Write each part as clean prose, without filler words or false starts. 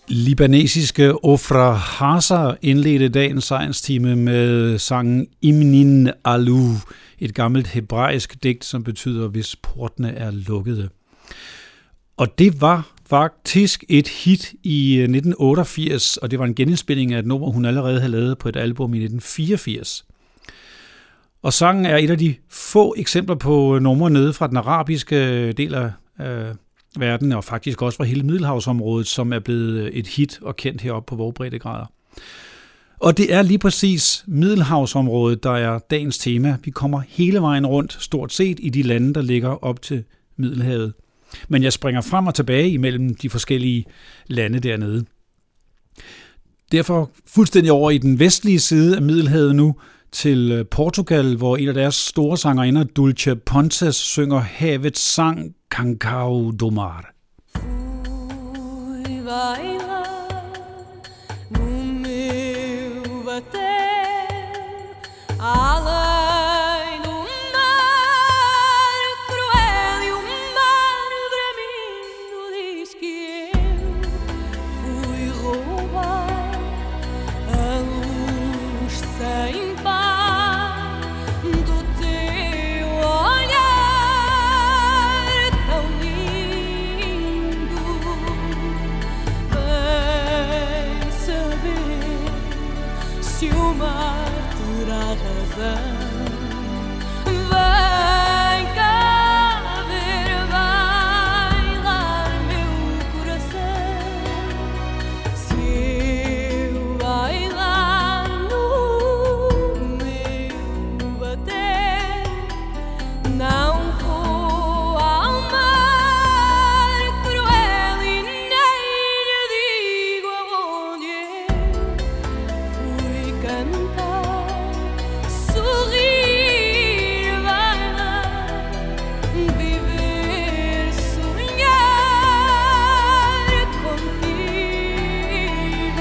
Libanesiske Ofra Hasa indledte dagens science-time med sangen Imnin Alu, et gammelt hebraisk digt, som betyder, hvis portene er lukkede. Og det var faktisk et hit i 1988, og det var en genindspilning af et nummer, hun allerede havde lavet på et album i 1984. Og sangen er et af de få eksempler på numre nede fra den arabiske del af verden, og faktisk også fra hele Middelhavsområdet, som er blevet et hit og kendt heroppe på vågbreddegrader. Og det er lige præcis Middelhavsområdet, der er dagens tema. Vi kommer hele vejen rundt, stort set, i de lande, der ligger op til Middelhavet. Men jeg springer frem og tilbage imellem de forskellige lande dernede. Derfor fuldstændig over i den vestlige side af Middelhavet nu, til Portugal, hvor en af deres store sangerinder, Dulce Pontes, synger havets sang Cancao do Mar. Fui bailar no meu bater, além do mar cruel e o mar bramindo diz que eu fui roubar a luz sem se o mar terá razão. Vem cá ver bailar meu coração. Se eu bailar no meu bater, não vou ao mar cruel e nem lhe digo aonde cantar, sorrir, bailar, viver, sonhar contigo.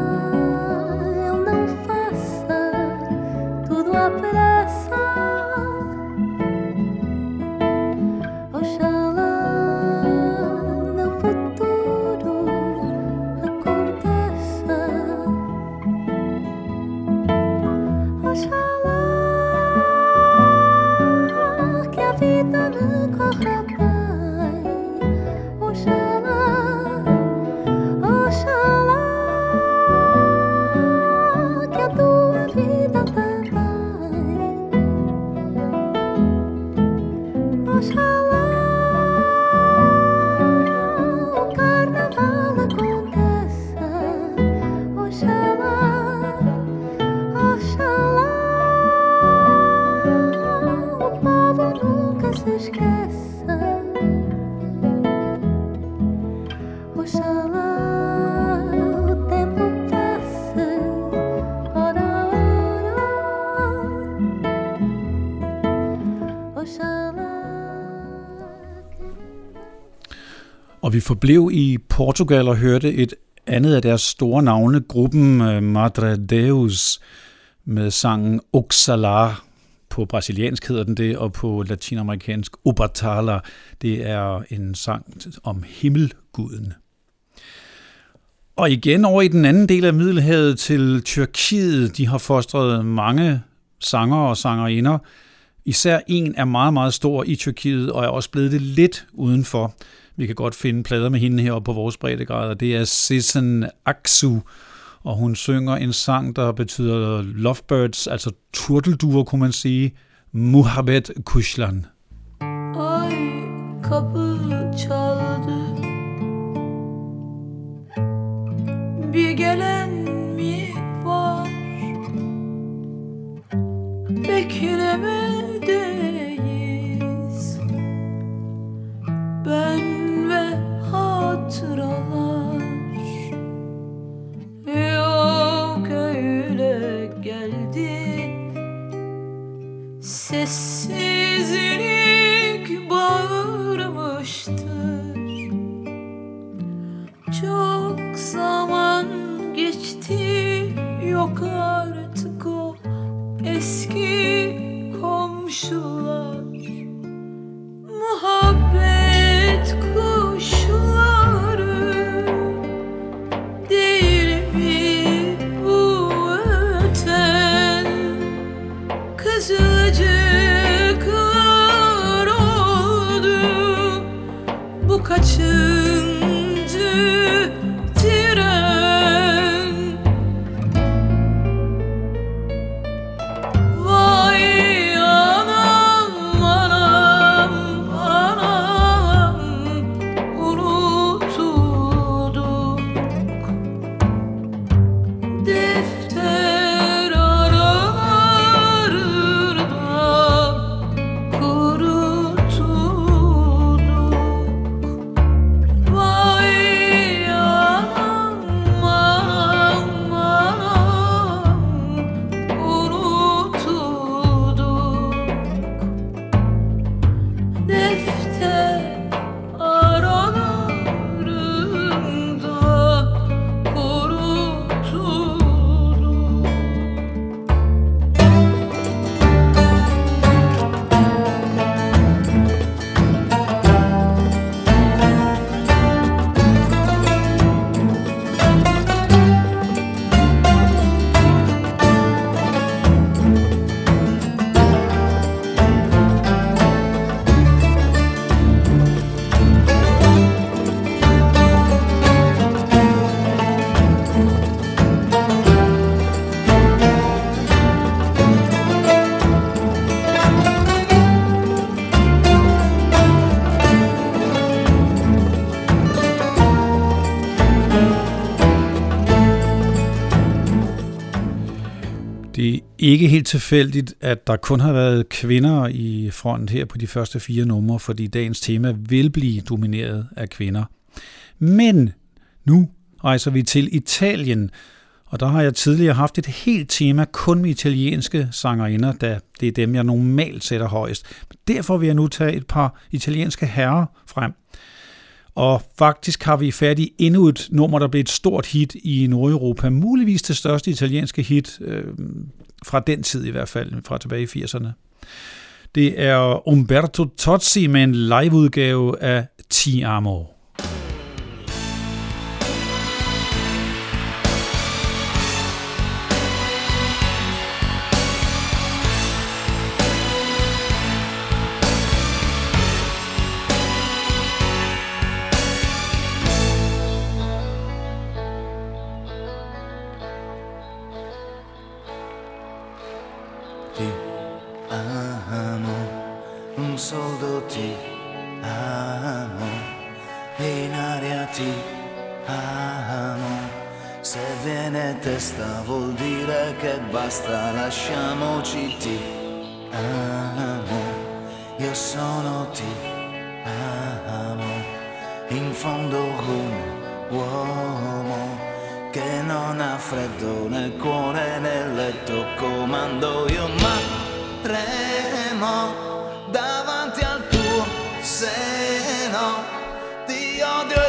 Oxalá eu não faça tudo à pressa. Og vi forblev i Portugal og hørte et andet af deres store navne, gruppen Madre Deus, med sangen Oxalá. På brasiliansk hedder den det, og på latinamerikansk Obatala. Det er en sang om himmelguden. Og igen over i den anden del af Middelhavet til Tyrkiet. De har fostret mange sanger og sangerinder. Især en er meget, meget stor i Tyrkiet, og er også blevet det lidt udenfor. Vi kan godt finde plader med hende heroppe på vores breddegrader. Det er Sezen Aksu, og hun synger en sang, der betyder lovebirds, altså turtelduer, kunne man sige. Muhabbet Kuşlan. Ay kapı çaldı, bir gelen mi var? Beklemedeyiz ben ve hatıralar. Yok öyle geldi, sessizlik bağırmıştır. Çok zaman geçti, yok artık o eski komşular. Muhabbet kuşları değil mi bu öten? Kızılcıklar oldu, bu kaçıncı tren? Vay anam anam anam, unutulduk. Defter aralarında kurutulduk. Vay anam anam anam, unutulduk. Defter aralarında kurutulduk. Det er ikke helt tilfældigt, at der kun har været kvinder i front her på de første 4 numre, fordi dagens tema vil blive domineret af kvinder. Men nu rejser vi til Italien, og der har jeg tidligere haft et helt tema kun med italienske sangerinder, da det er dem, jeg normalt sætter højst. Derfor vil jeg nu tage et par italienske herrer frem. Og faktisk har vi fat i endnu et nummer, der blev et stort hit i Nordeuropa. Muligvis det største italienske hit fra den tid i hvert fald, fra tilbage i 80'erne. Det er Umberto Tozzi med en liveudgave af Ti Amo. Ti amo, un soldo ti amo, in aria ti amo. Se viene testa vuol dire che basta, lasciamoci. Ti amo, io sono ti amo, in fondo un uomo che non ha freddo né cuore né letto, comando io, ma tremo davanti al tuo seno, ti odio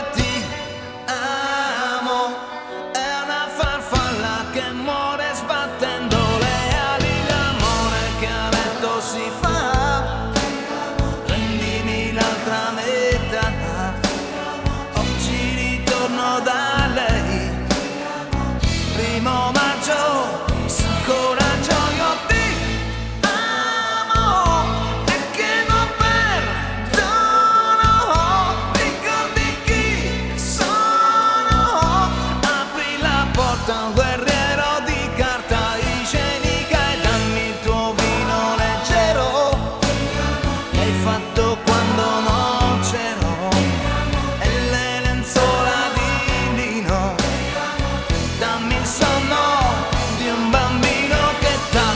che muore sbattendo le ali, l'amore che a letto si fa. Prendimi l'altra metà, oggi ritorno da lei. 1° maggio, su coraggio io ti amo e che non perdono. Ricordi chi sono? Apri la porta a un guerriero di carta igienica e dammi il tuo vino leggero che hai fatto quando non c'ero, e le lenzuola di lino. Dammi il sonno di un bambino che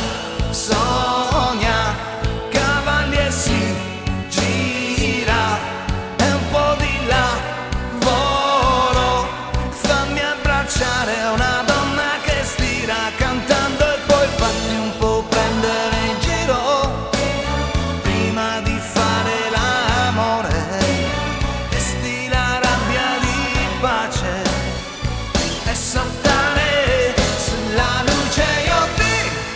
sogna cavalli e si gira, e un po' di lavoro. Fammi abbracciare una donna che stira cantando e poi fatti un po' prendere in giro prima di fare l'amore. Vesti la rabbia di pace e saltare sulla luce io ti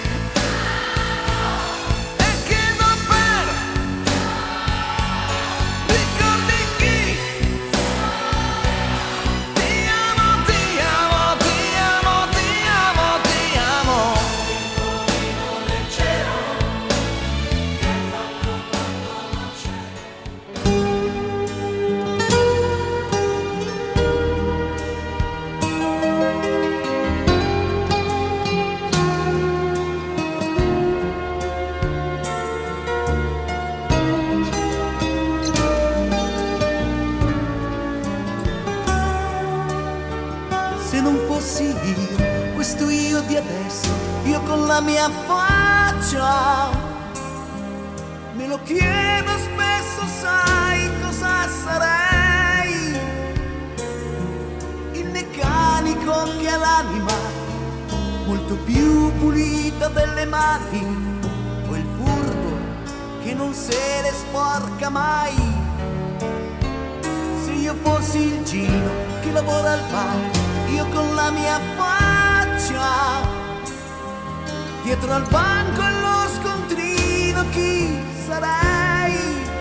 e che non per ricordi chi ti amo, ti amo, ti amo, ti amo, ti amo. Se non fossi io, questo io di adesso, io con la mia faccia, me lo chiedo spesso, sai cosa sarei? Il meccanico che ha l'anima molto più pulita delle mani, o il furbo che non se le sporca mai. Se io fossi il Gino che lavora al bar, io con la mia faccia, dietro al banco e lo scontrino, chi sarei?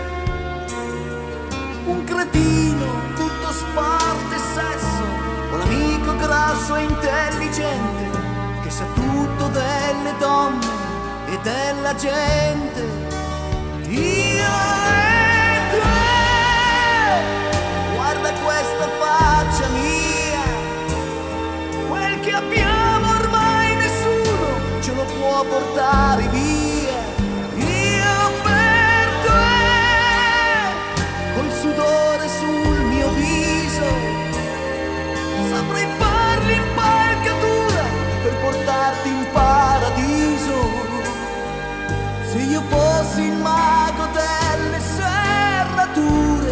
Un cretino, tutto sport e sesso, o l'amico grasso e intelligente, che sa tutto delle donne e della gente. Io e te, guarda questa faccia mia, quel che abbiamo ormai nessuno ce lo può portare via. Io per te, col sudore sul mio viso, saprei far l'impalcatura per portarti in paradiso. Se io fossi il mago delle serrature,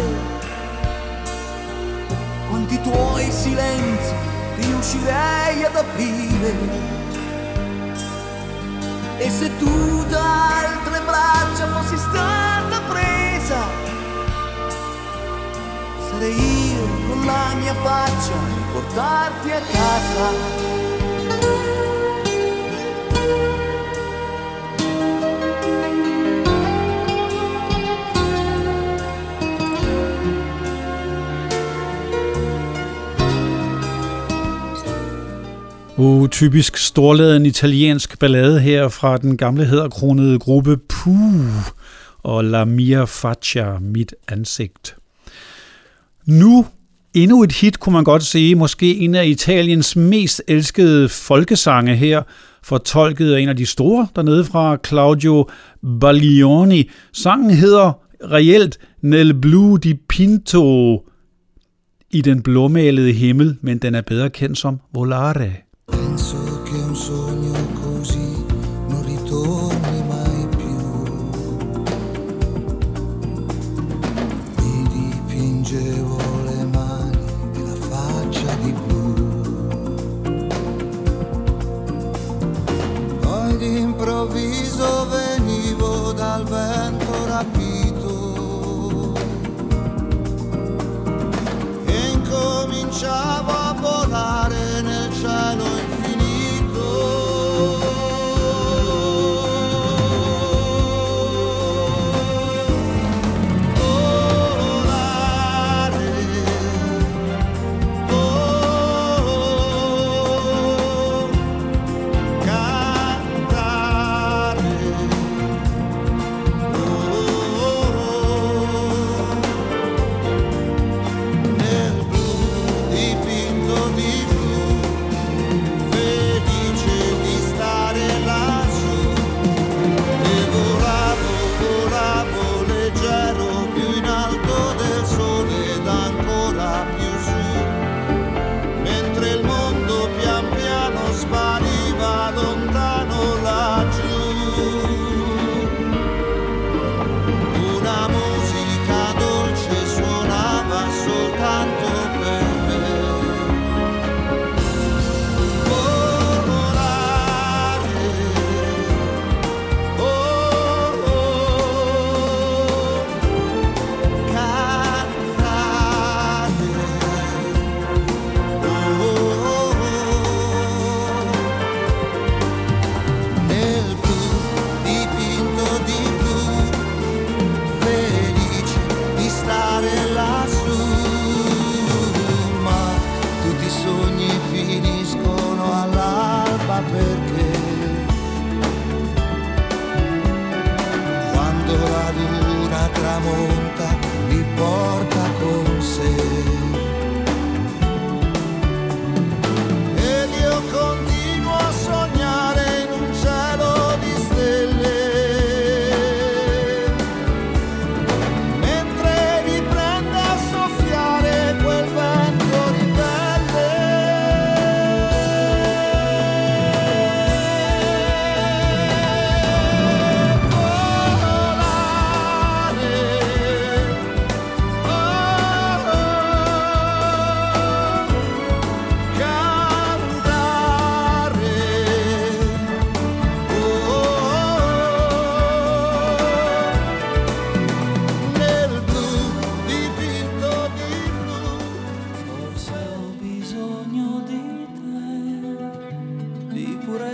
quanti tuoi silenzi riuscirei ad aprire. E se tu da altre braccia fossi stata presa, sarei io con la mia faccia a portarti a casa. Typisk storladen italiensk ballade her fra den gamle hæderkronede gruppe Puh og La Mia Faccia, mit ansigt. Nu endnu et hit, kunne man godt sige, måske en af Italiens mest elskede folkesange her, fortolket af en af de store dernede fra, Claudio Baglioni. Sangen hedder reelt Nel blu di pinto, i den blåmalede himmel, men den er bedre kendt som Volare. Penso che un sogno così non ritorni mai più. Mi dipingevo le mani e la faccia di blu. Poi d'improvviso venivo dal vento rapito e incominciavo a volare nel cielo infinito.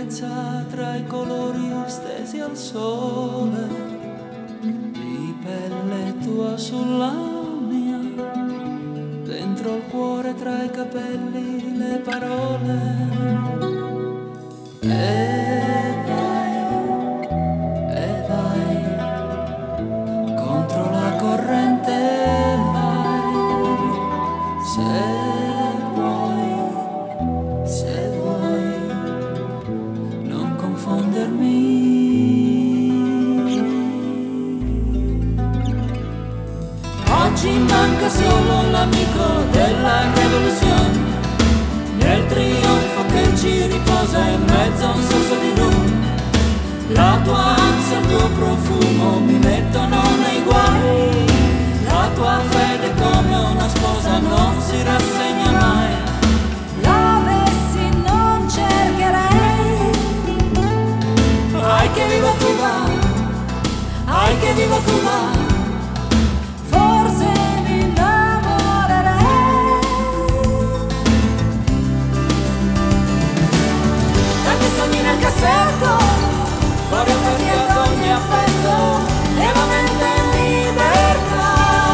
purezza tra i colori stesi al sole, di pelle tua sulla mia, dentro il cuore tra i capelli le parole. E vai, contro la corrente vai, se vuoi non confondermi. Oggi manca solo l'amico della rivoluzione, nel trionfo che ci riposa in mezzo a un sorso di luna. La tua ansia, il tuo profumo mi mettono nei guai, la tua fede come una sposa non si rassegna mai. L'avessi non cercherei. Ai che viva Cuba, ai che viva Cuba, Forse mi innamorerei. tanti sogni nel cassetto, fuori ad ogni affetto, e la mente in libertà.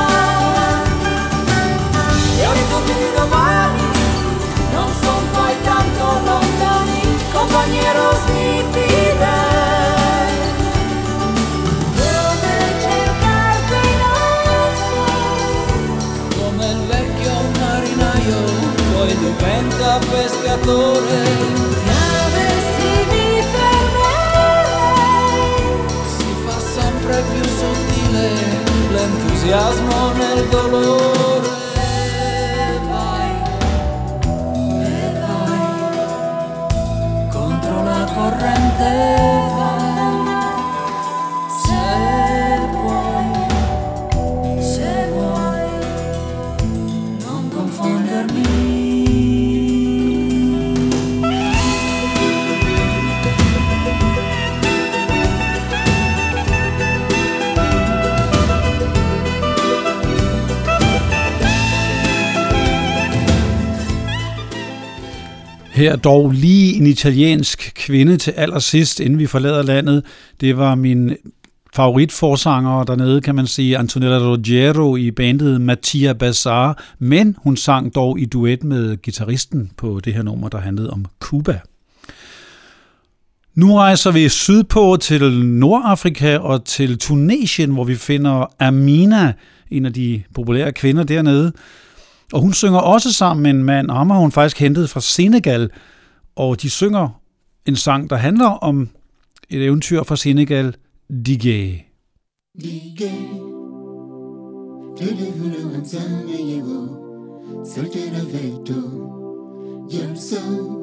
E orizzonti di domani non son poi tanto lontani, compagneros mi fidei. Dove cercarti non so. Come il vecchio marinaio, poi diventa pescatore. Ti avessi mi fermerei. Si fa sempre più sottile l'entusiasmo nel dolore. E vai, contro la corrente vai, se vuoi non confondermi. Her dog lige en italiensk kvinde til allersidst, inden vi forlader landet. Det var min favoritforsanger dernede, kan man sige, Antonella Ruggiero i bandet Mattia Bazar, men hun sang dog i duet med guitaristen på det her nummer, der handlede om Cuba. Nu rejser vi sydpå til Nordafrika og til Tunesien, hvor vi finder Amina, en af de populære kvinder dernede. Og hun synger også sammen med en mand, og ham har hun faktisk hentet fra Senegal. Og de synger en sang, der handler om et eventyr fra Senegal, Digé. Digé, telefono manzana llevo, soltera veto, yerso,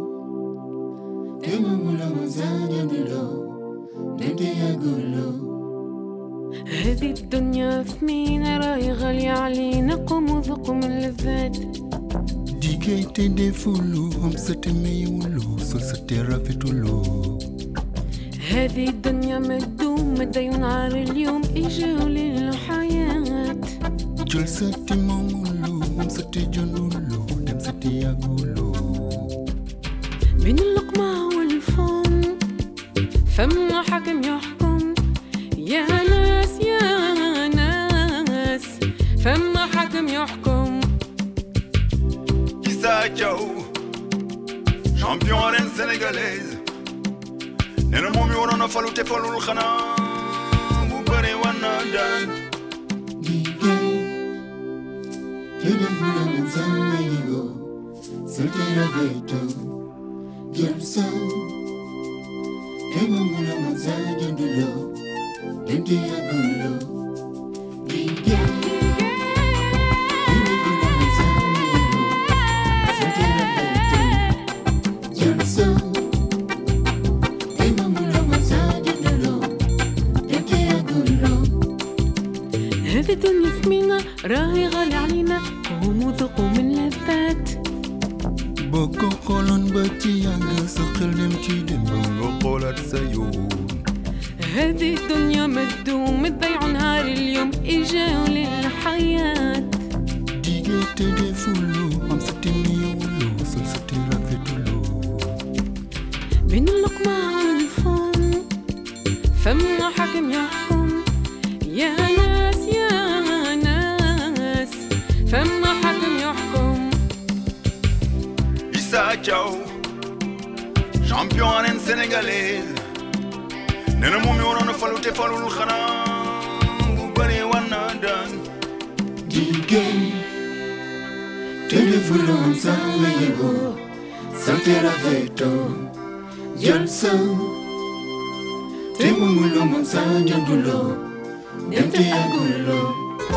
temo mula manzana dulo, nende agulo. هذه الدنيا ثمينة راهي غالية علينا، قوم وذوقوا من اللذات. Digé tende fulu, homsete meyulo, solsetera vetulo. هذه الدنيا ما تدوم، مدى ينعر اليوم إجاو للحياة. Jolsete mamulo, homsete jonulo, demsete agulo. بين اللقمة والفم فما حكم يحكم، يا ناس يا ناس فما حكم يحكم. Issa Diaw, champion arène sénégalaise. Nee na moom mi waroon a falu te falul xanaa bu bëri war na daan. Digé, telefono manzana llevo, soltera veto, yerso, temo mula manzana dulo, nende agulo. Digé, telefono manzana llevo, soltera veto, yerso, temo mula manzana dulo, nende agulo. هذه الدنيا ثمينة راهي غالية علينا، قوموا ذوقوا من لذات. Boko kolon bati yanga, sakal dem ci dem. nga xoolaat sa yoon. هذه الدنيا ما تدوم، تضيعوا نهار اليوم إجاو للحياة. Digé tende fulu, homsete meyulo, solsetera vetulo. بين اللقمة فما حكم يحكم يا ناس يا ناس فما حكم يحكم Issa Thiaw champion en sénégalais nena moom yoo doon falu te falul xanaa bu bëri war na daan Jigéen te defuloo sa yëgoo sante rafetoo jël sa te mumuloo moom sa jënduloo dem te yàgguloo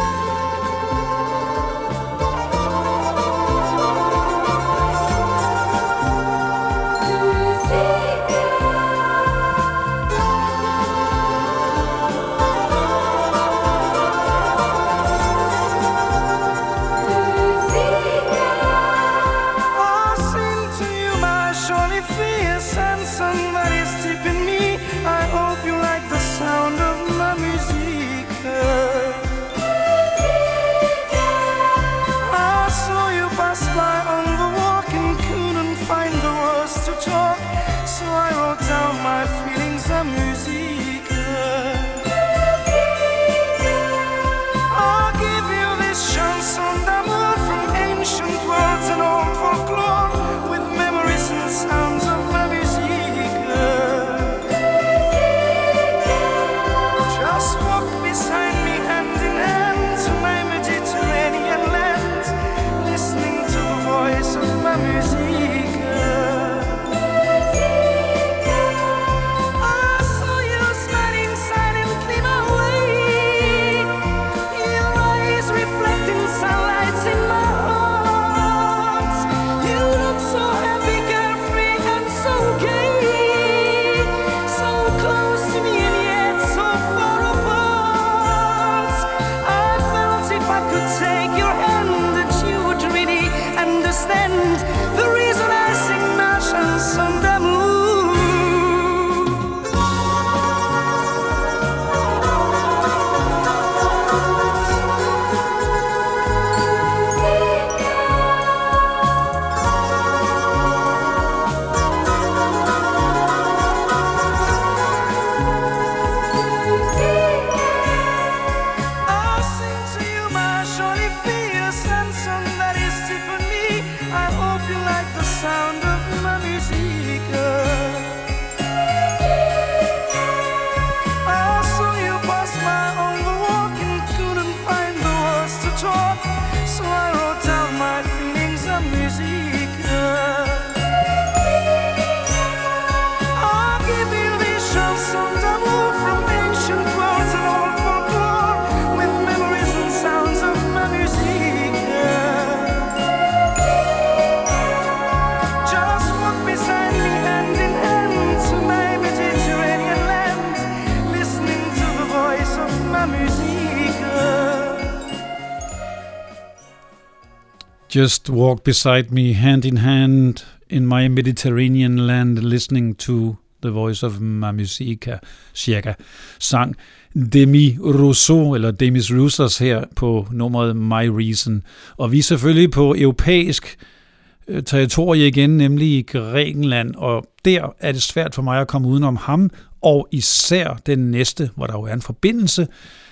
Just walk beside me, hand in hand, in my Mediterranean land, listening to the voice of ma musica, cirka, sang Demi Rousseau, eller Demis Roussos her på nummeret My Reason. Og vi er selvfølgelig på europæisk territorie igen, nemlig i Grækenland, og der er det svært for mig at komme udenom ham, og især den næste, hvor der jo er en forbindelse,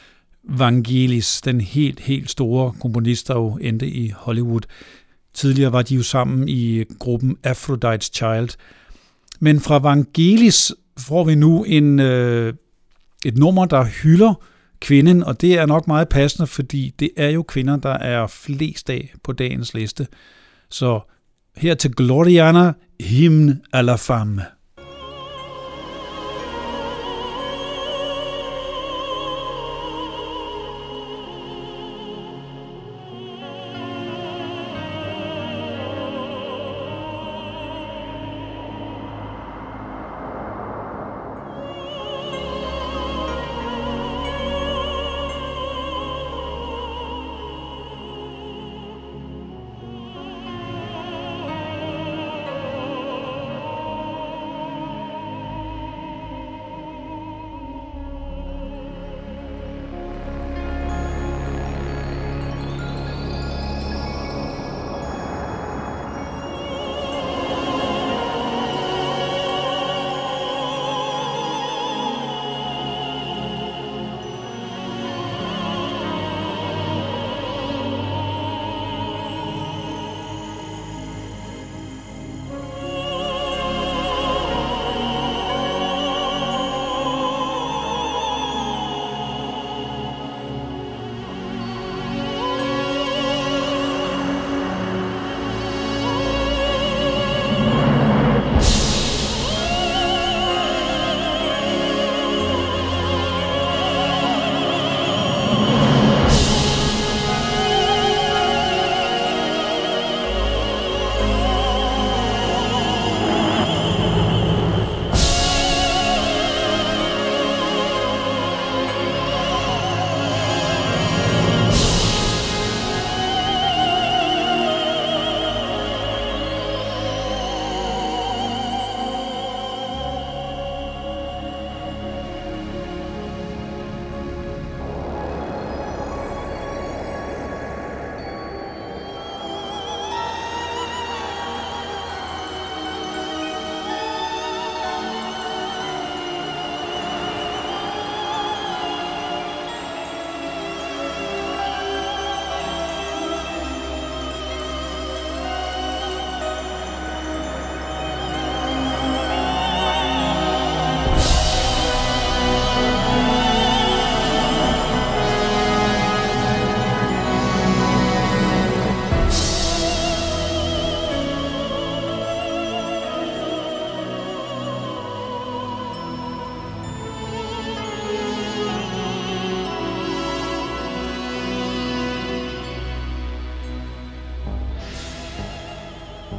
Vangelis, den helt store komponist, der jo endte i Hollywood. Tidligere var de jo sammen i gruppen Aphrodite's Child. Men fra Vangelis får vi nu et nummer, der hylder kvinden, og det er nok meget passende, fordi det er jo kvinder, der er flest af på dagens liste. Så her til Gloriana, Hymne à la femme.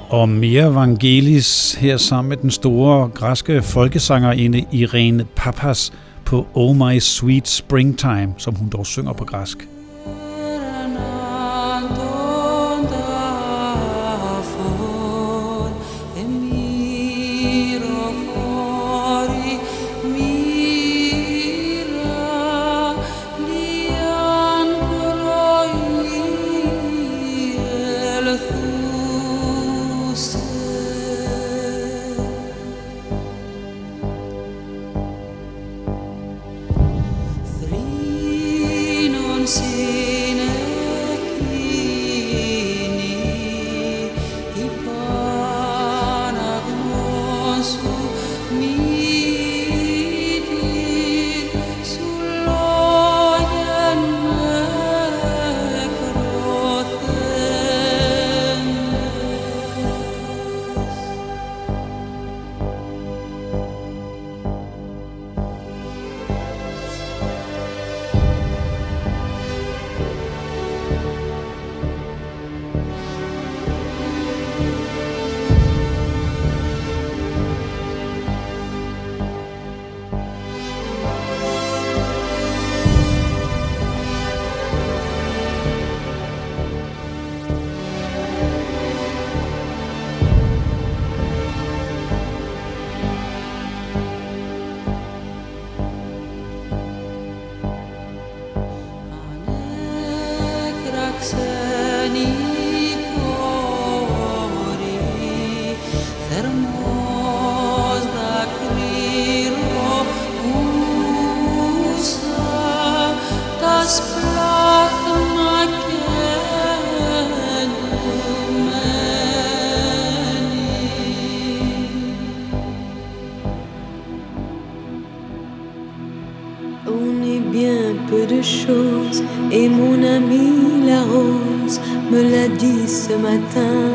Og mere Vangelis her sammen med den store græske folkesangerinde Irene Papas på Oh My Sweet Springtime, som hun dog synger på græsk. Et mon amie la rose me l'a dit ce matin.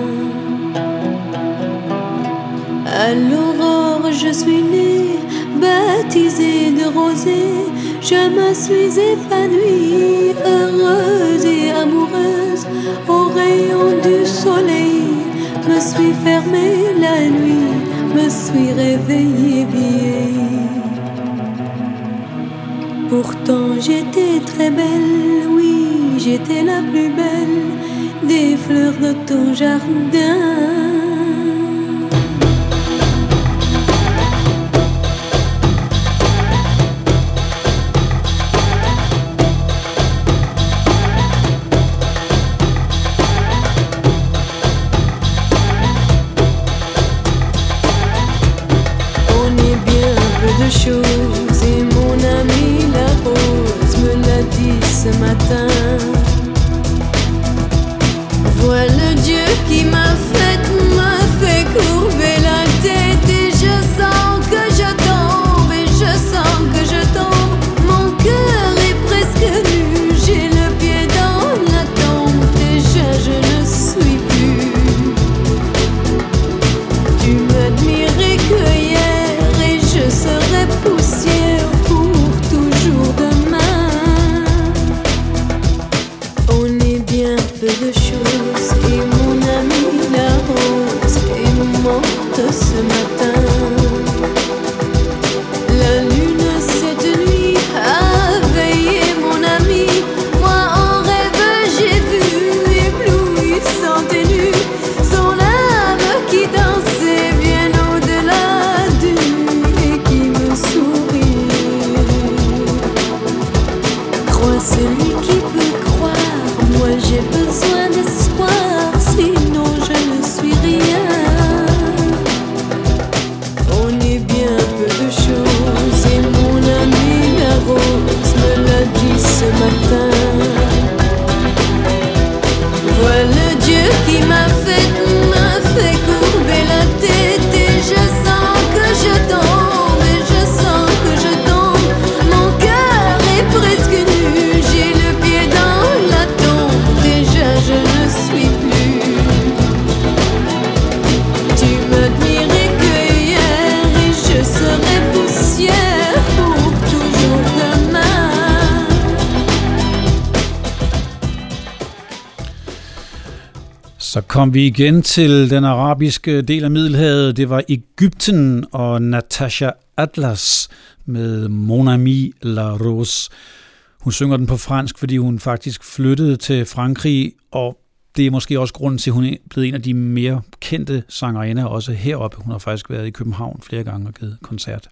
À l'aurore je suis née, baptisée de rosée. Je me suis épanouie, heureuse et amoureuse. Au rayon du soleil, me suis fermée la nuit, me suis réveillée vieille. Pourtant j'étais très belle, oui, j'étais la plus belle des fleurs de ton jardin. On est bien peu de choses et mon ami la rose me l'a dit ce matin. Voilà Dieu qui m'a fait courber la tête. Et je sens que je tombe, et je sens que je tombe. Mon cœur est presque nu, j'ai le pied dans la tombe. Déjà je ne suis plus. Tu m'admirais que hier, et je serai poussière pour toujours demain. On est bien peu de choses, et mon ami la rose est morte ce matin. La lune cette nuit a veillé mon ami. Moi en rêve j'ai vu éblouissante et nue son âme qui dansait bien au-delà du et qui me sourit. Crois celui qui peut croire, moi j'ai besoin d'espoir, sinon je ne suis rien. On est bien peu de choses et mon ami la rose me l'a dit ce matin. Voilà Dieu qui m'a fait courber la tête. Et je sens que je tombe, et je sens que je tombe. Mon cœur est presque nu, j'ai le pied dans la tombe. Déjà je ne suis plus. Tu m'admirais que hier, et je serai poussière pour toujours demain. Så kom vi igen til den arabiske del af Middelhavet. Det var Egypten og Natasha Atlas med Mon Ami La Rose. Hun synger den på fransk, fordi hun faktisk flyttede til Frankrig, og det er måske også grunden til, at hun er blevet en af de mere kendte sangerinder, også heroppe. Hun har faktisk været i København flere gange og givet koncert.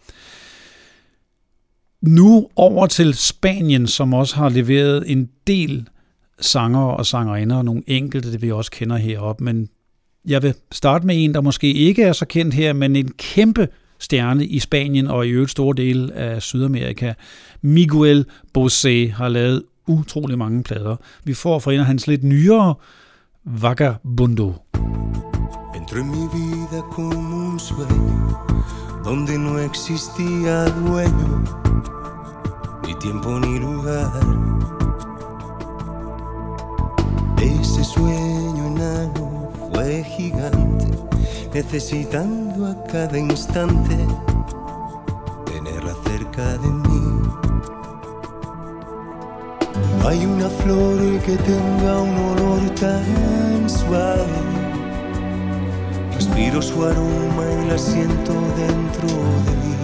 Nu over til Spanien, som også har leveret en del sanger og sangerinder, og nogle enkelte, det vi også kender heroppe. Men jeg vil starte med en, der måske ikke er så kendt her, men en kæmpe stjerne i Spanien og i øvrigt store dele af Sydamerika. Miguel Bosé har lavet utrolig mange plader. Vi får fra en af hans lidt nyere, Vagabundo. Entró en mi vida como un sueño donde no existía dueño, ni tiempo ni lugar. Ese sueño enano fue gigante, necesitando a cada instante tenerla cerca de mí. Hay una flor que tenga un olor tan suave, respiro su aroma y la siento dentro de mí.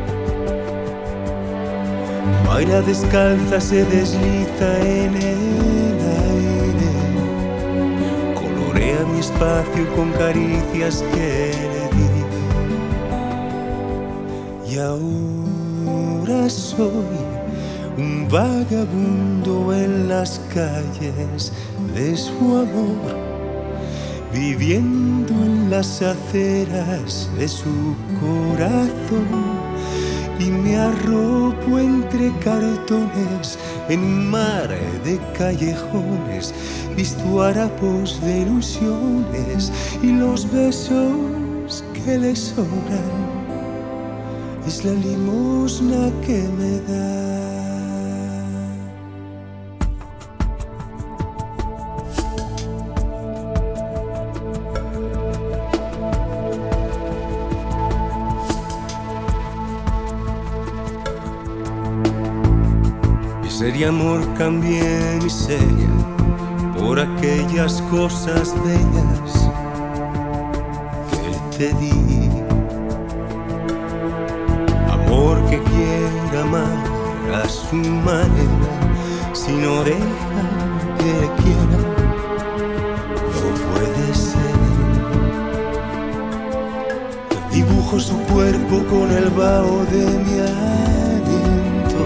Baila descalza, se desliza en el aire, colorea mi espacio con caricias que le di. Y ahora soy un vagabundo en las calles de su amor, viviendo en las aceras de su corazón, y me arropo entre cartones en un mar de callejones, visto harapos de ilusiones y los besos que le sobran es la limosna que me da. Sería amor cambié miseria por aquellas cosas bellas que te di. Amor que quiera amar a su manera, si no deja que le quiera, no puede ser. Dibujo su cuerpo con el vaho de mi aliento.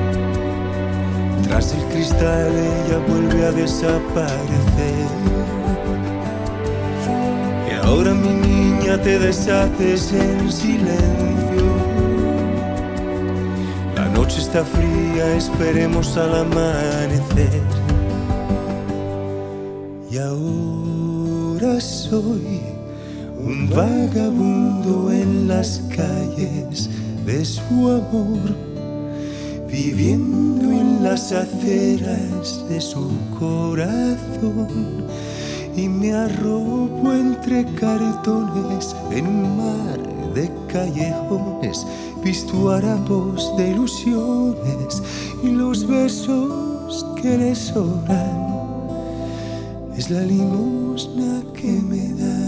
Tras el cristal ella vuelve a desaparecer. Y ahora mi niña te deshaces en silencio. La noche está fría, esperemos al amanecer. Y ahora soy un vagabundo en las calles de su amor, viviendo en las aceras de su corazón, y me arropo entre cartones en un mar de callejones, visto harapos de ilusiones y los besos que le sobran es la limosna que me da.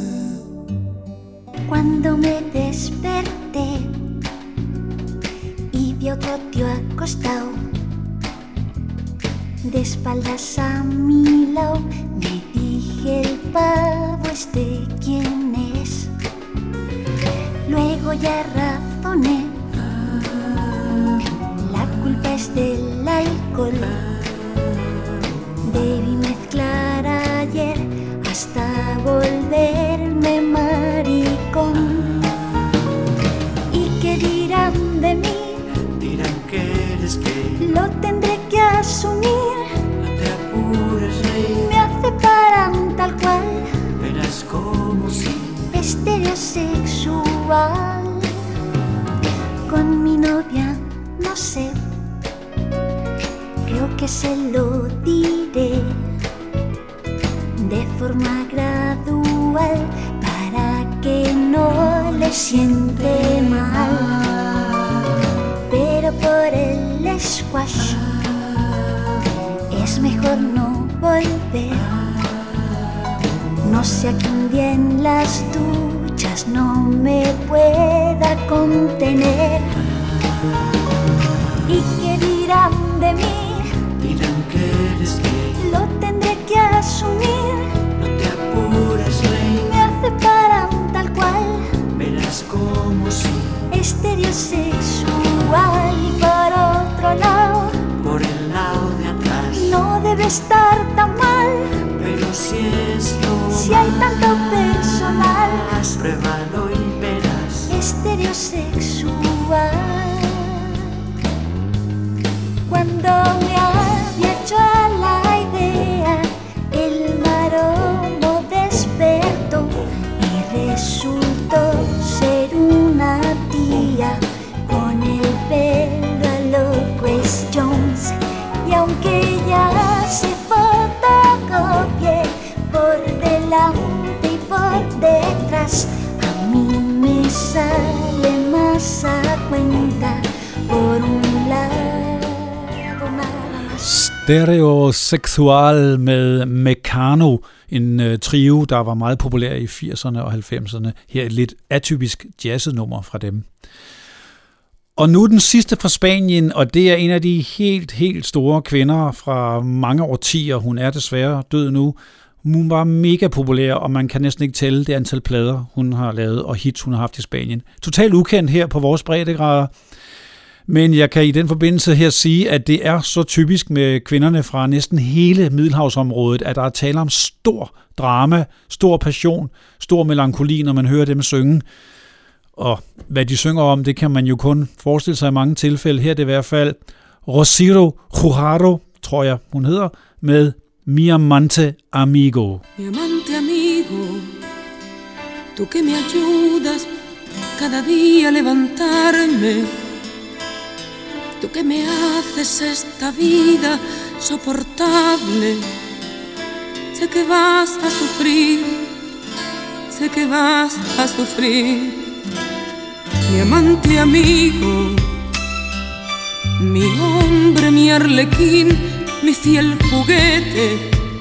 Cuando me desperté y vi otro tío acostado de espaldas a mi lado, me dije: el pavo este quién es. Luego ya razoné, la culpa es del alcohol. Debí mezclar ayer hasta volverme maricón. ¿Y qué dirán de mí? Dirán que eres gay. Lo tendré que asumir. No te apures, rey. Me aceptarán tal cual. Verás como si estereosexual. Con mi novia no sé, creo que se lo diré de forma gradual para que no le siente mal. Pero por el squash es mejor no volver. No sea que un día en las duchas no me pueda contener. ¿Y qué dirán de mí? Dirán que eres gay. Lo tendré que asumir. No te apures, rey. Me aceptarán tal cual. Verás como si estereosexual. Y por otro lado, por el lado de atrás, no debe estar tan mal. pero si es lo Si hay tanto personal, más, pruébalo y verás. Estereosexual. Cuando me había hecho a la idea, el maromo despertó y resultó ser una tía con el pelo a lo Grace Jones. Y aunque ella se fotocopie por delante y por detrás, a mí me sale más a cuenta por un lado nada más. Stereosexual med Mekano, en trio, der var meget populær i 80'erne og 90'erne. Her et lidt atypisk jazzet nummer fra dem. Og nu den sidste fra Spanien, og det er en af de helt store kvinder fra mange årtier. Hun er desværre død nu. Hun var mega populær, og man kan næsten ikke tælle det antal plader, hun har lavet, og hits, hun har haft i Spanien. Totalt ukendt her på vores breddegrader. Men jeg kan i den forbindelse her sige, at det er så typisk med kvinderne fra næsten hele Middelhavsområdet, at der er tale om stor drama, stor passion, stor melankoli, når man hører dem synge. Og hvad de synger om, det kan man jo kun forestille sig i mange tilfælde. Her er det i hvert fald Rocío Jurado, tror jeg hun hedder, med Mi amante amigo. Mi amante amigo, tú que me ayudas cada día a levantarme, tú que me haces esta vida soportable. Sé que vas a sufrir, sé que vas a sufrir. Mi amante amigo, mi hombre, mi arlequín, mi fiel juguete,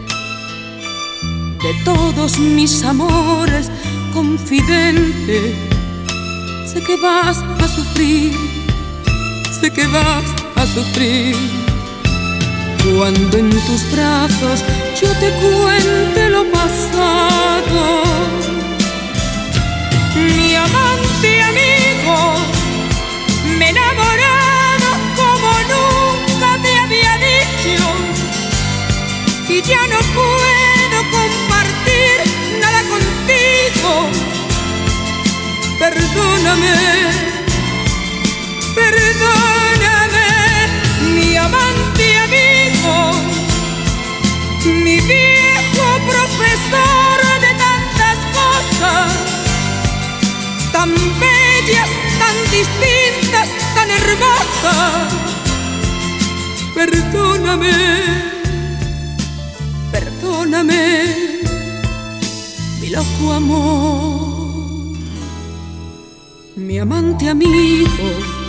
de todos mis amores, confidente. Sé que vas a sufrir, sé que vas a sufrir. Cuando en tus brazos yo te cuente lo pasado, mi amante amigo, me he enamorado como nunca te había dicho, y ya no puedo compartir nada contigo. Perdóname, perdóname, mi amante amigo, mi viejo profesor de tantas cosas, tan bellas, tan distintas, tan hermosas. Perdóname, perdóname, mi loco amor. Mi amante amigo,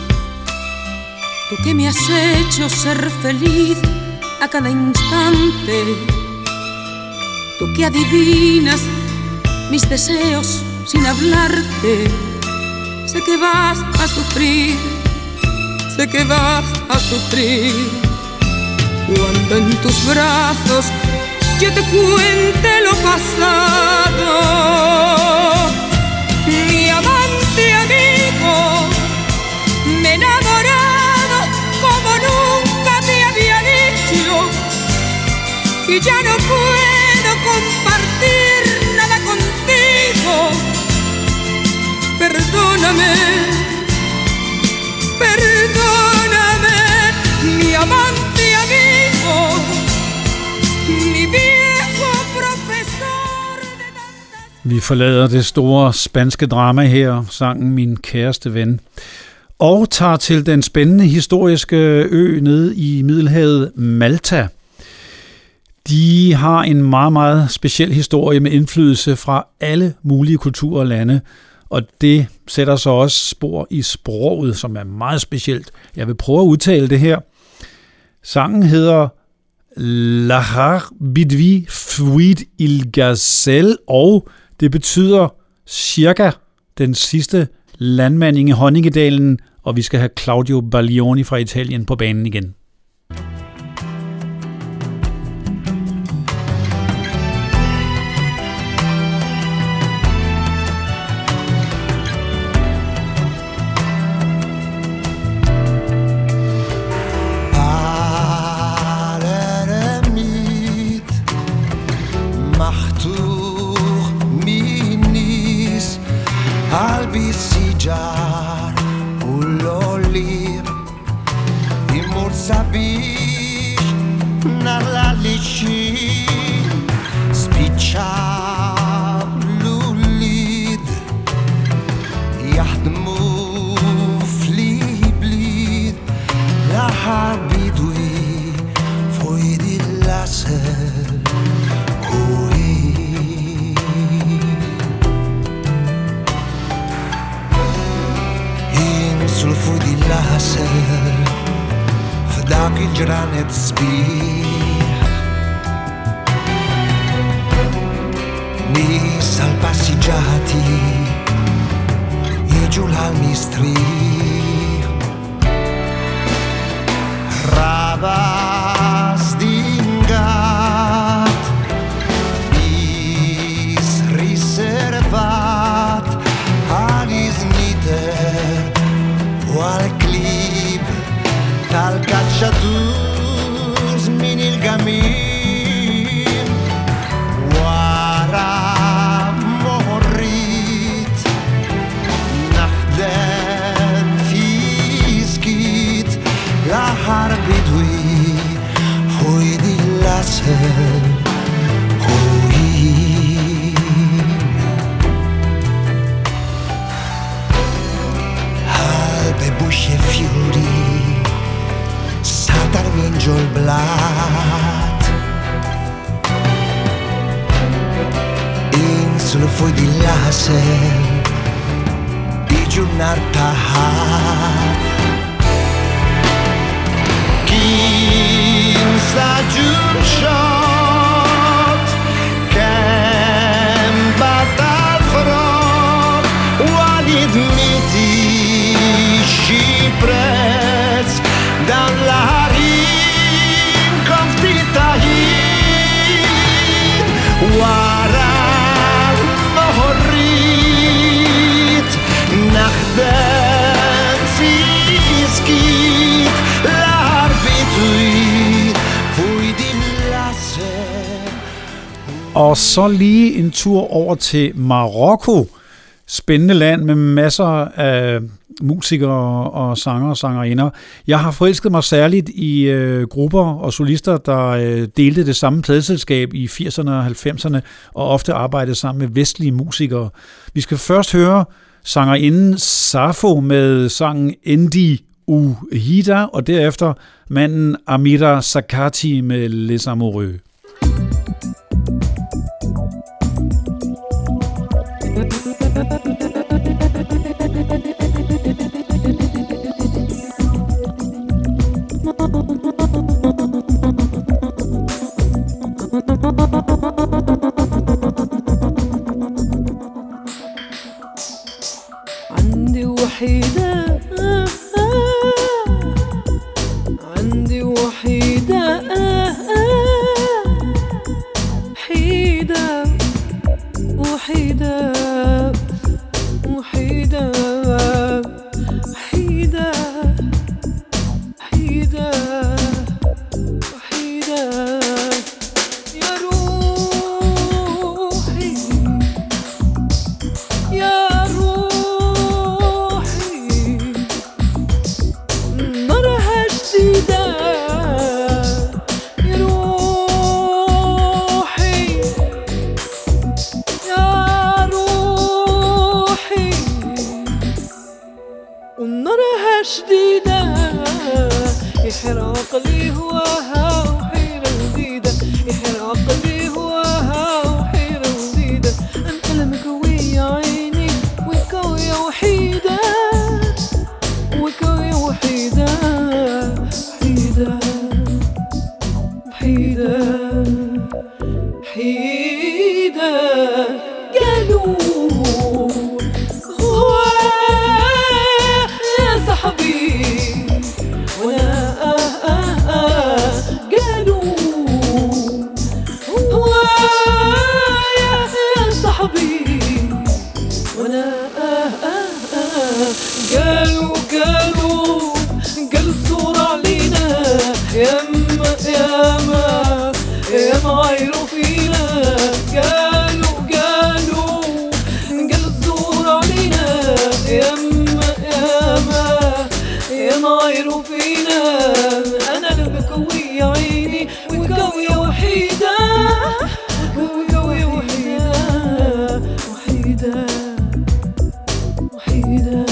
tú que me has hecho ser feliz a cada instante, tú que adivinas mis deseos sin hablarte. Sé que vas a sufrir, sé que vas a sufrir. Cuando en tus brazos yo te cuente lo pasado, mi amante amigo, me he enamorado como nunca te había dicho, y ya no puedo compartir nada contigo. Perdóname, perdóname, mi amante amigo, mi viejo profesor de tantas... Vi forlader det store spanske drama her, sangen Min kæreste ven, og tager til den spændende historiske ø nede i Middelhavet, Malta. De har en meget speciel historie med indflydelse fra alle mulige kulturer og lande, og det sætter så også spor i sproget, som er meget specielt. Jeg vil prøve at udtale det her. Sangen hedder Lahar Bidvi Fuit il Gazelle, og det betyder cirka den sidste landmand i Honningedalen, og vi skal have Claudio Baglioni fra Italien på banen igen. Albisijar ulolir imursabish nalalishi spichar lulid yahdmu fliblid lahar bidwi foidi lasel sul fu di laser f'dak il-ġranet sbieħ nies għal-passiġġati jiġu l-mistrieħ rabas dingat nies riservat għal-iżniter għal-klib tal-kacċaturs min il-gamin wara morrit naħdem fiskit l-aħar bidwi fuq il-lasel busce fiori sadar minġo l-blat insulu fuq di lasel iġu nar taħat kien saġun xot kem batal frot walid miti prezz dan l-ħarin konftitaħin wara moħorrit naħdem fiskit l-arbitri fuj din lasser. Og så lige en tur over til Marokko. Spændende land med masser af musikere og sanger og sangerinder. Jeg har forelsket mig særligt i grupper og solister, der delte det samme pladeselskab i 80'erne og 90'erne, og ofte arbejdede sammen med vestlige musikere. Vi skal først høre sangerinden Safo med sangen Endi Uhida, og derefter manden Amira Sakati med Les Amoureux. عندي وحيدة عندي وحيدة حيدة وحيدة وحيدة حيدة حيدة وحيدة يا روحي يا شديدة يحرق لي هواها وحيرة جديدة يحرق لي هواها وحيرة جديدة أنت المكوية عيني وكوية وحيدة وكوية وحيدة وحيدة وحيدة الدمع يروفينا أنا اللي بكوي عيني وكوي وحيدة وكوي وحيدة وحيدة وحيدة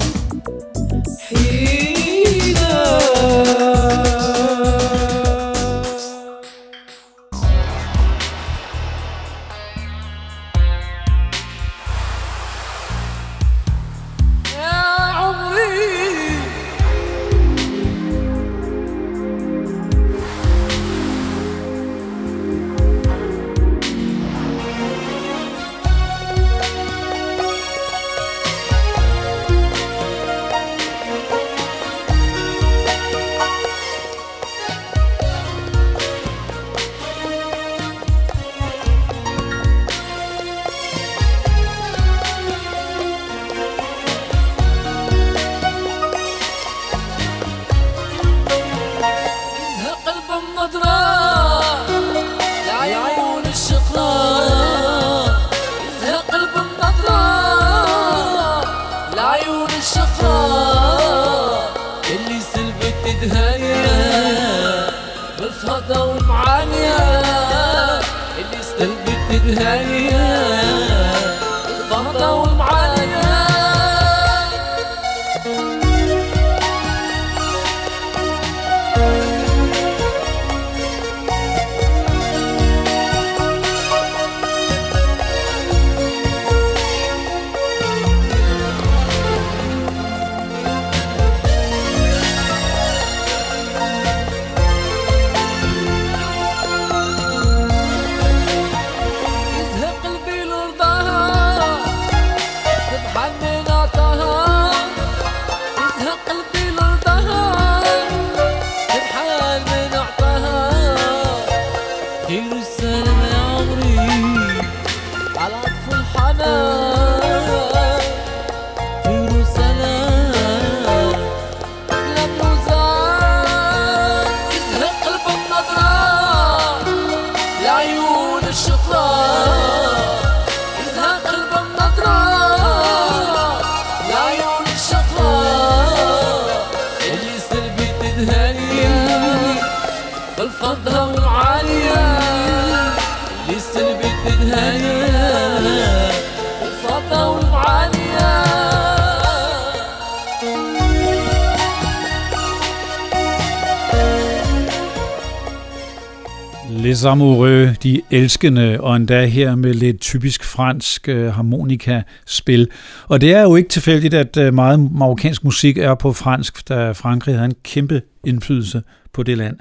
Les Amoureux, de elskende, og endda her med lidt typisk fransk harmonikaspil. Og det er jo ikke tilfældigt, at meget marokkansk musik er på fransk, da Frankrig havde en kæmpe indflydelse på det land.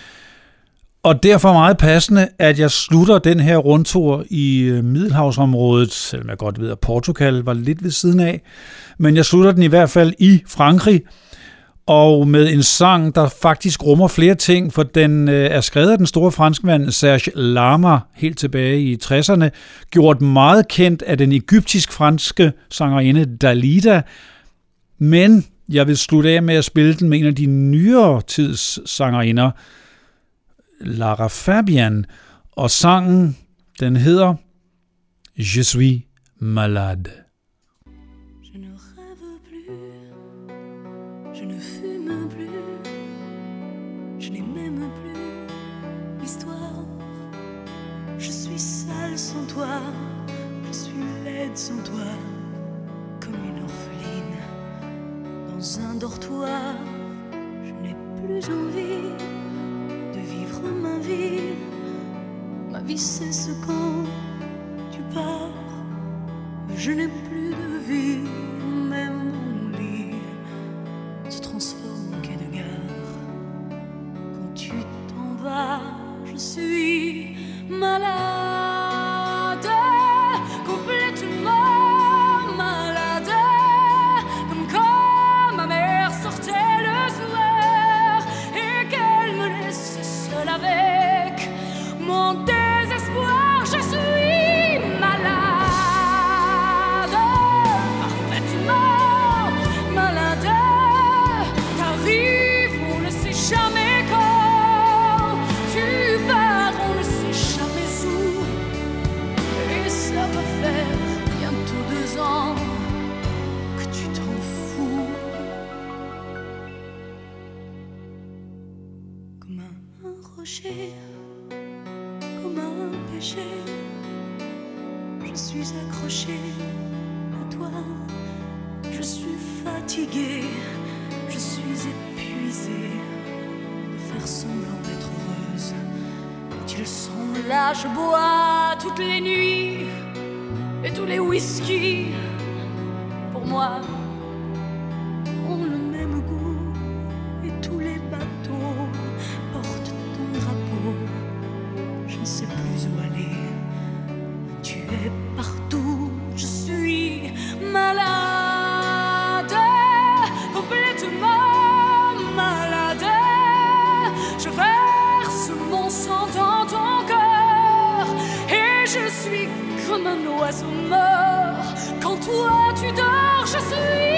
Og derfor meget passende, at jeg slutter den her rundtur i Middelhavsområdet, selvom jeg godt ved, at Portugal var lidt ved siden af, men jeg slutter den i hvert fald i Frankrig, og med en sang, der faktisk rummer flere ting, for den er skrevet af den store franskmand Serge Lama helt tilbage i 60'erne, gjort meget kendt af den egyptisk-franske sangerinde Dalida, men jeg vil slutte af med at spille den med en af de nyere tids sangerinder, Lara Fabian, og sangen, den hedder Je suis malade. Sans toi, je suis laide sans toi, comme une orpheline dans un dortoir. Je n'ai plus envie de vivre ma vie. Ma vie cesse quand tu pars. Je n'ai plus de vie, même mon lit se transforme en quai de gare. Quand tu t'en vas, je suis malade, complètement malade, comme quand ma mère sortait le soir et qu'elle me laisse seule avec mon désespoir. Je suis malade, parfaite comme un rocher, comme un péché. Je suis accrochée à toi, je suis fatiguée, je suis épuisée de faire semblant d'être heureuse. Quand ils sont là, je bois toutes les nuits et tous les whisky. Pour moi, ont le même goût et tous les bateaux portent ton drapeau. Je ne sais plus où aller, tu es partout, je suis malade, complètement malade. Je verse mon sang dans ton cœur et je suis comme un oiseau mort. Quand toi tu dors, je suis